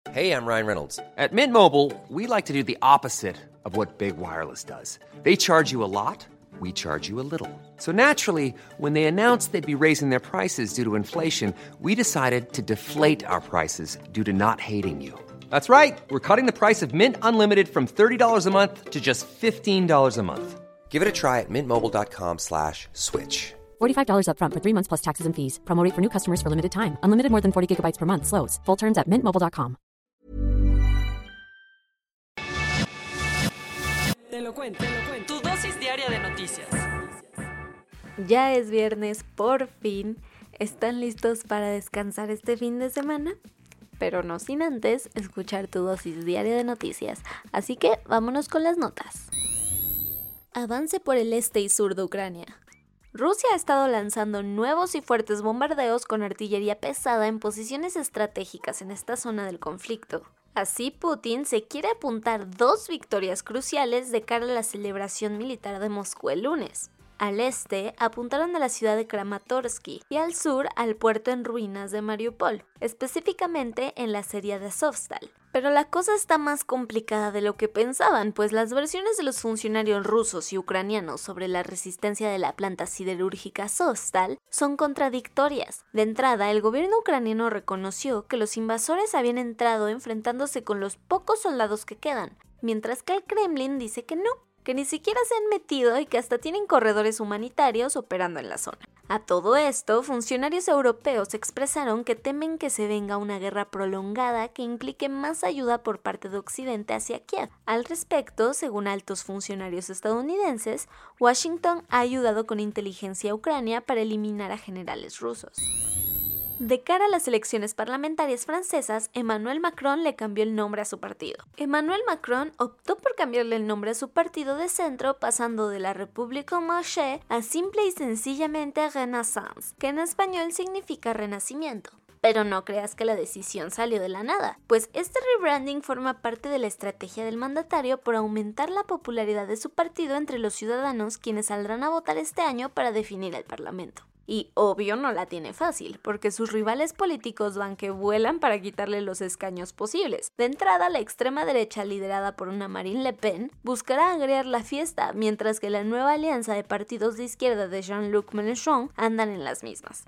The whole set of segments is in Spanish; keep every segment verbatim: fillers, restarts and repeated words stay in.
Hey, I'm Ryan Reynolds. At Mint Mobile, we like to do the opposite of what Big Wireless does. They charge you a lot, we charge you a little. So naturally, when they announced they'd be raising their prices due to inflation, we decided to deflate our prices due to not hating you. That's right. We're cutting the price of Mint Unlimited from thirty dollars a month to just fifteen dollars a month. Give it a try at mintmobile.com slash switch. forty-five dollars up front for three months plus taxes and fees. Promo rate for new customers for limited time. Unlimited more than forty gigabytes per month. Slows full terms at mint mobile dot com. Te lo cuento, te lo cuento. Tu dosis diaria de noticias. Ya es viernes, por fin. ¿Están listos para descansar este fin de semana? Pero no sin antes escuchar tu dosis diaria de noticias. Así que vámonos con las notas. Avance por el este y sur de Ucrania. Rusia ha estado lanzando nuevos y fuertes bombardeos con artillería pesada en posiciones estratégicas en esta zona del conflicto. Así, Putin se quiere apuntar dos victorias cruciales de cara a la celebración militar de Moscú el lunes. Al este, apuntaron a la ciudad de Kramatorsk y al sur al puerto en ruinas de Mariupol, específicamente en la serie de Azovstal. Pero la cosa está más complicada de lo que pensaban, pues las versiones de los funcionarios rusos y ucranianos sobre la resistencia de la planta siderúrgica Azovstal son contradictorias. De entrada, el gobierno ucraniano reconoció que los invasores habían entrado enfrentándose con los pocos soldados que quedan, mientras que el Kremlin dice que no, que ni siquiera se han metido y que hasta tienen corredores humanitarios operando en la zona. A todo esto, funcionarios europeos expresaron que temen que se venga una guerra prolongada que implique más ayuda por parte de Occidente hacia Kiev. Al respecto, según altos funcionarios estadounidenses, Washington ha ayudado con inteligencia a Ucrania para eliminar a generales rusos. De cara a las elecciones parlamentarias francesas, Emmanuel Macron le cambió el nombre a su partido. Emmanuel Macron optó por cambiarle el nombre a su partido de centro, pasando de la République en Marche a simple y sencillamente Renaissance, que en español significa renacimiento. Pero no creas que la decisión salió de la nada, pues este rebranding forma parte de la estrategia del mandatario por aumentar la popularidad de su partido entre los ciudadanos quienes saldrán a votar este año para definir el Parlamento. Y obvio no la tiene fácil, porque sus rivales políticos van que vuelan para quitarle los escaños posibles. De entrada, la extrema derecha, liderada por una Marine Le Pen, buscará agregar la fiesta, mientras que la nueva alianza de partidos de izquierda de Jean-Luc Mélenchon andan en las mismas.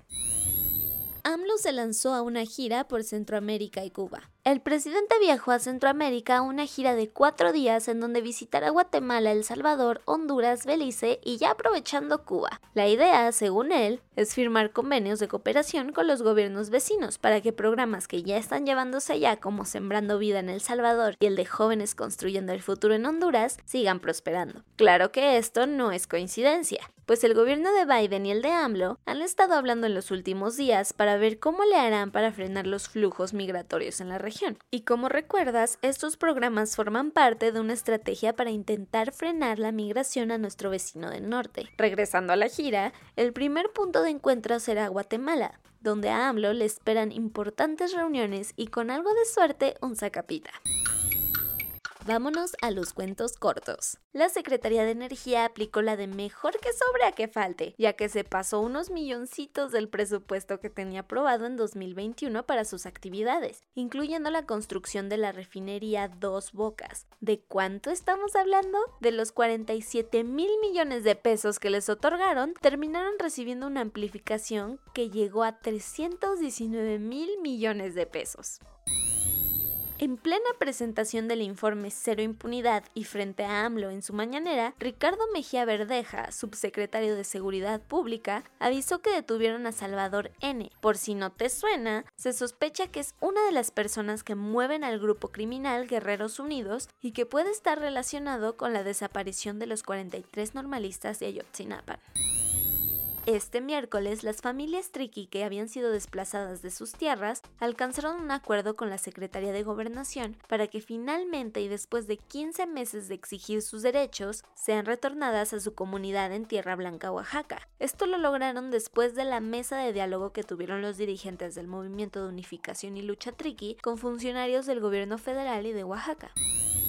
AMLO se lanzó a una gira por Centroamérica y Cuba. El presidente viajó a Centroamérica a una gira de cuatro días en donde visitará Guatemala, El Salvador, Honduras, Belice y ya aprovechando Cuba. La idea, según él, es firmar convenios de cooperación con los gobiernos vecinos para que programas que ya están llevándose allá como Sembrando Vida en El Salvador y el de Jóvenes Construyendo el Futuro en Honduras sigan prosperando. Claro que esto no es coincidencia, pues el gobierno de Biden y el de AMLO han estado hablando en los últimos días para ver cómo le harán para frenar los flujos migratorios en la región. Y como recuerdas, estos programas forman parte de una estrategia para intentar frenar la migración a nuestro vecino del norte. Regresando a la gira, el primer punto de encuentro será Guatemala, donde a AMLO le esperan importantes reuniones y con algo de suerte un sacapita. Vámonos a los cuentos cortos. La Secretaría de Energía aplicó la de mejor que sobre a que falte, ya que se pasó unos milloncitos del presupuesto que tenía aprobado en dos mil veintiuno para sus actividades, incluyendo la construcción de la refinería Dos Bocas. ¿De cuánto estamos hablando? De los cuarenta y siete mil millones de pesos que les otorgaron, terminaron recibiendo una amplificación que llegó a trescientos diecinueve mil millones de pesos. En plena presentación del informe Cero Impunidad y frente a AMLO en su mañanera, Ricardo Mejía Verdeja, subsecretario de Seguridad Pública, avisó que detuvieron a Salvador N. Por si no te suena, se sospecha que es una de las personas que mueven al grupo criminal Guerreros Unidos y que puede estar relacionado con la desaparición de los cuarenta y tres normalistas de Ayotzinapa. Este miércoles, las familias Triqui que habían sido desplazadas de sus tierras alcanzaron un acuerdo con la Secretaría de Gobernación para que finalmente y después de quince meses de exigir sus derechos, sean retornadas a su comunidad en Tierra Blanca, Oaxaca. Esto lo lograron después de la mesa de diálogo que tuvieron los dirigentes del Movimiento de Unificación y Lucha Triqui con funcionarios del gobierno federal y de Oaxaca.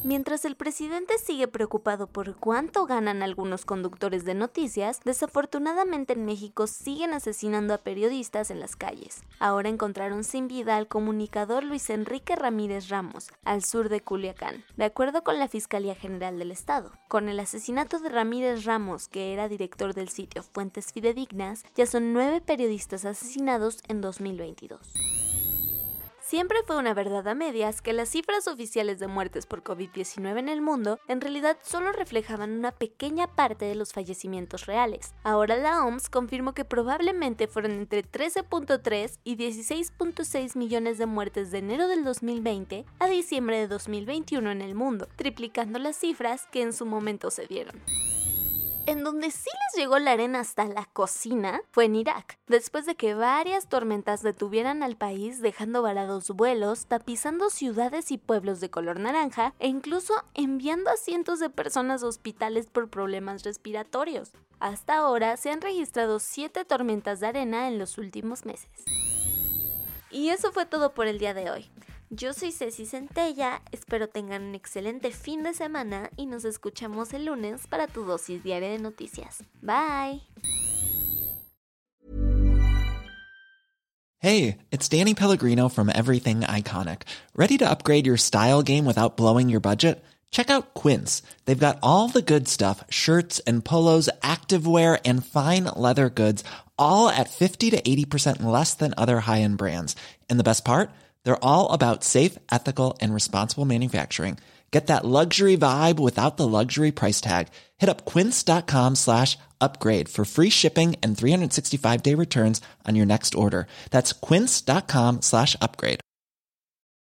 Mientras el presidente sigue preocupado por cuánto ganan algunos conductores de noticias, desafortunadamente en México siguen asesinando a periodistas en las calles. Ahora encontraron sin vida al comunicador Luis Enrique Ramírez Ramos, al sur de Culiacán, de acuerdo con la Fiscalía General del Estado. Con el asesinato de Ramírez Ramos, que era director del sitio Fuentes Fidedignas, ya son nueve periodistas asesinados en dos mil veintidós. Siempre fue una verdad a medias que las cifras oficiales de muertes por COVID diecinueve en el mundo en realidad solo reflejaban una pequeña parte de los fallecimientos reales. Ahora la O M S confirmó que probablemente fueron entre trece punto tres y dieciséis punto seis millones de muertes de enero del dos mil veinte a diciembre de dos mil veintiuno en el mundo, triplicando las cifras que en su momento se dieron. En donde sí les llegó la arena hasta la cocina fue en Irak, después de que varias tormentas detuvieran al país dejando varados vuelos, tapizando ciudades y pueblos de color naranja e incluso enviando a cientos de personas a hospitales por problemas respiratorios. Hasta ahora se han registrado siete tormentas de arena en los últimos meses. Y eso fue todo por el día de hoy. Yo soy Ceci Centella, espero tengan un excelente fin de semana y nos escuchamos el lunes para tu dosis diaria de noticias. Bye. Hey, it's Danny Pellegrino from Everything Iconic. Ready to upgrade your style game without blowing your budget? Check out Quince. They've got all the good stuff, shirts and polos, activewear and fine leather goods, all at fifty to eighty percent less than other high-end brands. And the best part? They're all about safe, ethical, and responsible manufacturing. Get that luxury vibe without the luxury price tag. Hit up quince.com slash upgrade for free shipping and three sixty-five day returns on your next order. That's quince.com slash upgrade.